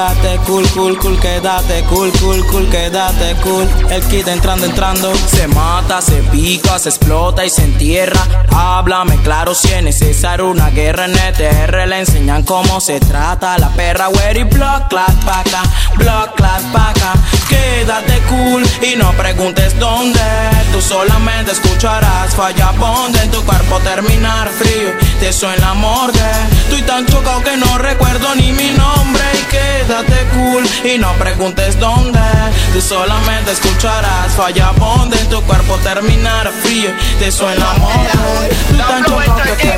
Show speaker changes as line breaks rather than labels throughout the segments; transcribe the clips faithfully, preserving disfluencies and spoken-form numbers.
quédate cool, cool, cool, quédate cool, cool, cool, quédate cool. El kid entrando, entrando. Se mata, se pica, se explota y se entierra. Háblame claro si es necesario una guerra en E T R. Le enseñan cómo se trata la perra. Wery block, clap, paca, block, clap, paca. Quédate cool y no preguntes dónde. Tú solamente escucharás falla bonde. En tu cuerpo terminar frío, te suena la morgue. Estoy tan chocado que no recuerdo ni mi nombre. Y quédate cool y no preguntes dónde. Tú solamente escucharás falla bonde. En tu cuerpo terminar frío, te suena la morgue. Estoy tan chocado que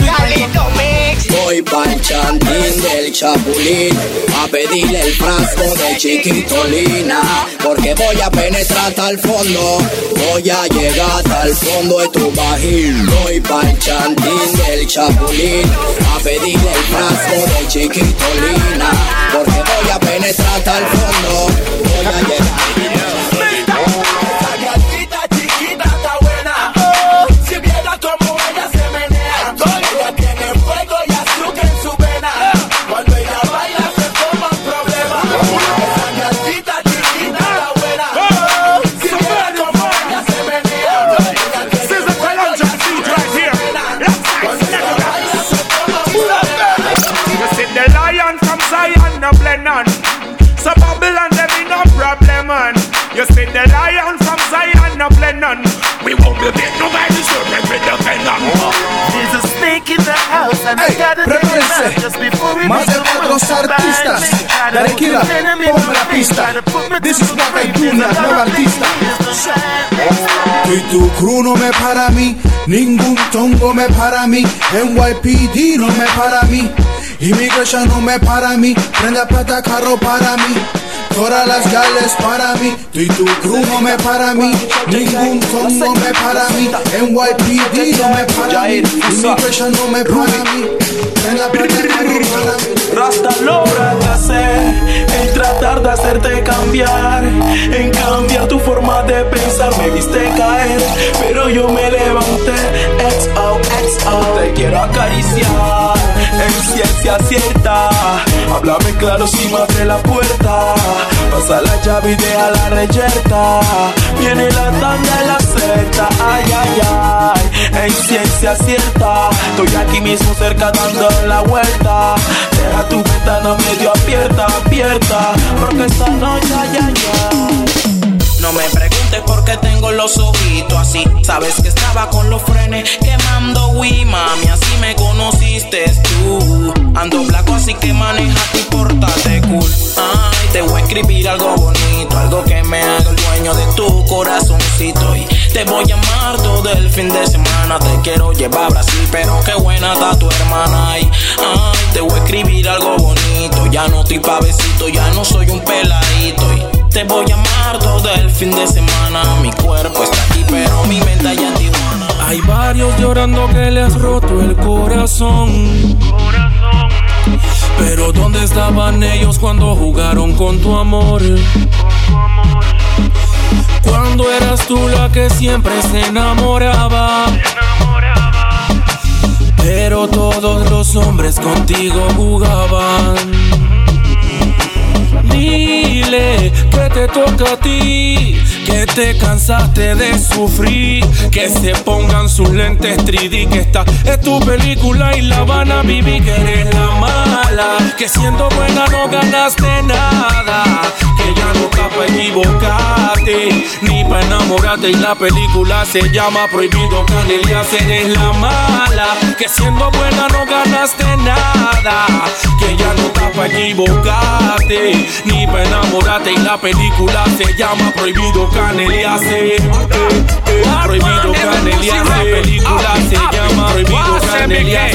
voy pa'l chantín del Chapulín a pedirle el frasco de Chiquitolina, porque voy a penetrar hasta el fondo, voy a llegar hasta el fondo de tu bajín. Voy pa'l chantín del Chapulín a pedirle el frasco de Chiquitolina, porque voy a penetrar hasta el fondo, voy a llegar.
So Babylon, there be no problem, man. You see the lion from Zion, no blend none. We won't be big, nobody should make me defend them.
There's a snake in the house and I gotta take it just before we
más de cuatro artistas. Tranquila, ponme la pista. This is what I do, la nueva artista. Y tu crew no me para a mí, ningún tongo me para a mí, N Y P D no me para a mí, Immigration no me para a mí, prenda plata carro para mí, todas las gales para mí, tú y tu crew no me para a mí, ningún tongo me para a mí, N Y P D no me para a mí, Immigration no me para a mí, prenda plata carro para mí.
Rasta lo fracasé en tratar de hacerte cambiar, en cambiar tu forma de pensar. Me viste caer, pero yo me levanté. X O, X O, te quiero acariciar en ciencia cierta. Háblame claro si me abre la puerta. Pasa la llave y deja la reyerta. Viene la tanda y la secta. Ay, ay, ay, en ciencia cierta. Estoy aquí mismo cerca dando la vuelta. Deja tu ventana medio abierta, abierta, porque esta noche, ay, ay, ay. No me preguntes por qué tengo los ojitos así. Sabes que estaba con los frenes quemando Wii, mami, así me conociste tú. Ando blanco así que maneja y pórtate cool. Ay, te voy a escribir algo bonito, algo que me haga el dueño de tu corazoncito. Y te voy a amar todo el fin de semana. Te quiero llevar a Brasil, pero qué buena está tu hermana. Ay, ay, te voy a escribir algo bonito. Ya no estoy pa' besito, ya no soy un peladito. Y te voy a amar todo el fin de semana. Mi cuerpo está aquí, pero mi mente allá en Tijuana.
Hay varios llorando que le has roto el corazón. Pero ¿dónde estaban ellos cuando jugaron con tu amor? Cuando eras tú la que siempre se enamoraba. Pero todos los hombres contigo jugaban. Dile que te toca a ti, que te cansaste de sufrir, que se pongan sus lentes tres D, que esta es tu película y la van a vivir, que eres la mala, que siendo buena no ganaste nada, que ya no está pa' equivocarte, ni pa' enamorarte y la película se llama Prohibido Canelias. Eres la mala, que siendo buena no ganaste nada, que ya no está pa' equivocarte, ni pa' enamorarte y la película se llama Prohibido Canelias. Prohibido Canelias, la película se llama Prohibido Canelias.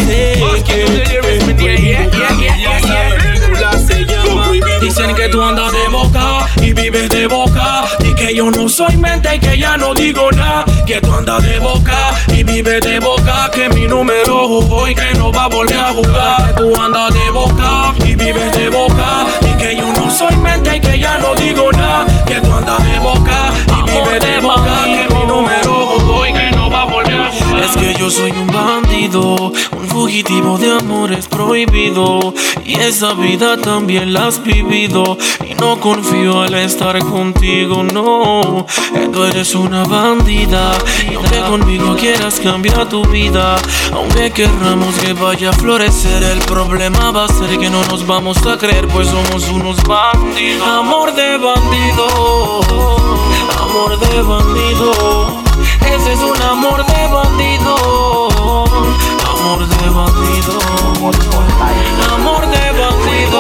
Dicen que tú andas de boca y vives de boca, y que yo no soy mente y que ya no digo nada. Que tú andas de boca y vives de boca, que mi número jugó y que no va a volver a jugar. Que tú andas de boca y vives de boca, y que yo no soy mente y que ya no digo nada. Que tú andas de boca y vives de boca, que mi número jugó y que no va a volver a jugar. sabes que yo soy un bandido, un fugitivo de amores prohibido, y esa vida también la has vivido, y no confío al estar contigo, no. Tú eres una bandida, y aunque conmigo quieras cambiar tu vida, aunque querramos que vaya a florecer, el problema va a ser que no nos vamos a creer, pues somos unos bandidos. Amor de bandido, amor de bandido, ese es un amor de bandido, amor de bandido, amor de bandido, amor de bandido,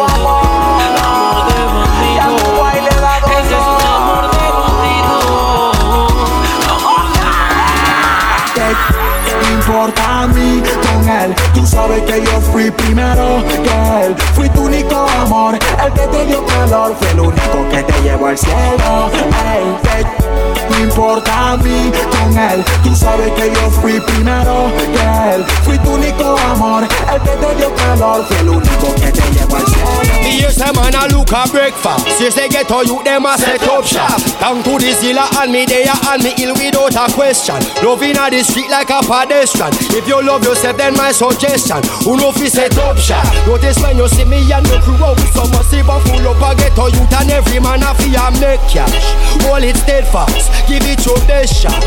ese es un amor de bandido, amor de...
¿Qué me importa a mí con él? Tú sabes que yo fui primero que él. Fui tu único amor, el que te dio calor, fue el único que te llevó al cielo. Ey, ¿qué me importa a mí con él? Tú sabes que yo fui primero que él. Fui tu único amor, el que te dio calor, fue el único que te llevó al cielo.
Me hear some man a look a breakfast. Since they get to you, them a set up shop. Down to the zilla and me there and me ill without a question. Loving at the street like a pedestrian. If you love yourself, then my suggestion, who know fi set up shop. Notice when you see me and the crew out with some massive and full up a ghetto youth, and every man a fi a make cash. Hold it steadfast, give it your best shot.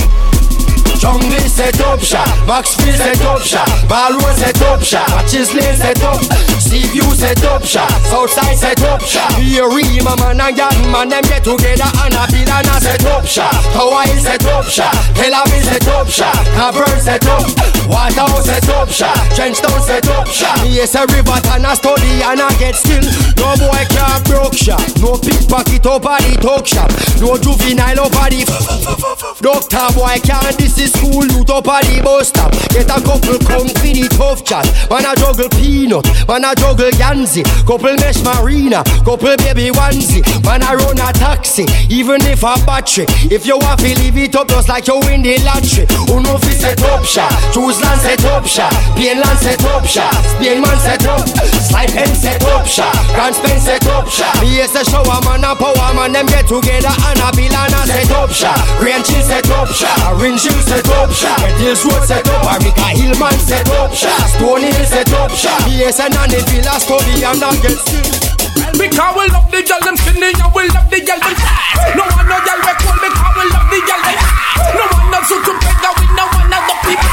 Jungle set up shop, Maxfield set up shop, Ballroom set up shop, Matches Lane set up, Seaview set up shop, Southside set up shop. Here we my man and young man them get together and a build and a set up shop. Hawaii set up shop, Tel Aviv set up shop, Cavern set up, Waterhouse set up shop, Trenchtown set up shop. Yes, a river and a study and a get still. No boy can't broke shop, no pickpocket over the talk shop, no juvenile over the doctor boy can't this is school loot up at the bus stop. Get a couple come for the tough chat. Man a juggle peanut, man a juggle Yanzi. Couple mesh marina, couple baby onesie. Man a run a taxi, even if a battery. If you want to leave it up just like you win the lottery. Who know fi set up shop, choose land set up shop, Plain land set up shop, Spain man set up, Slide Pen set up shop, Grand Spain set up shop. Me yes a shower man a power man them get together and a bill and a set up shop. Grand Chill set up shop, Orange Hill set up shop, Red Hills Road set up, America Hillman set up shop, Stony Hill set up shop. Yes and on the villa study and not get still.
Because we love the girl them skinny and we love the girl them fat. No one no girl we cool because we love the girl them fat. No one no suit together with no one no the people.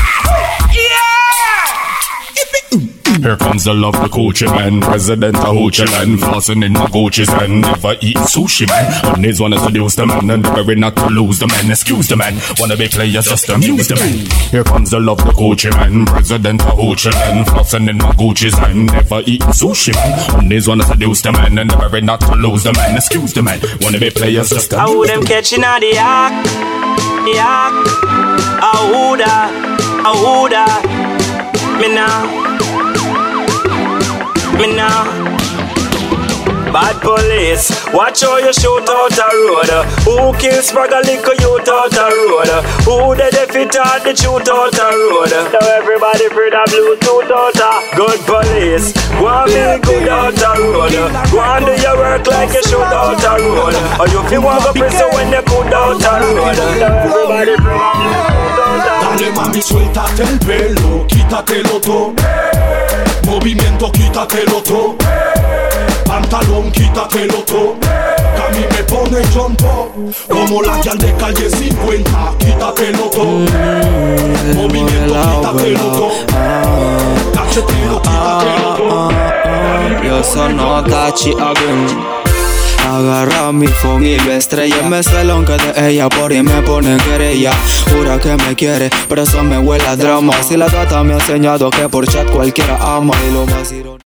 Yeah.
Here comes the love, the Gucci man, president of Hoochie land, flossing in my Gucci's and never eating sushi man. One is wanna seduce the man and very not to lose the man. Excuse the man, wanna be players just amuse the man. Here comes the love, the Gucci man, president of Hoochie land, flossing in my Gucci's and never eating sushi man. One is wanna seduce the man and very not to lose the man. Excuse the man, wanna be players just amuse the man.
I would them catching on the yak, yak. I woulda, I woulda, me now. Me now. Bad police, watch how you shoot out a road. Who kills Spragg a little youth out a road? Who the defeat out the shoot out a road? Now everybody free the Bluetooth out a good police. Go on be good out a road. Go on do your work like you shoot out a road. Or you feel want go prison when you good out a road. Now everybody free the Bluetooth out a road.
Dale mami, suéltate el pelo, quítatelo todo. Movimiento, quítatelo todo. Pantalón, quítatelo todo. Que a mí me pone jumpo como la guial de calle cincuenta. Quítatelo todo. Movimiento, quítatelo todo. Cachetero, quítatelo todo.
Yo sono Tachi Agun. Agarra mi phone y lo estrella. Me celón que de ella por ahí me pone querella. Jura que me quiere, pero eso me huele a drama. Si la gata me ha enseñado que por chat cualquiera ama. Y lo más irónico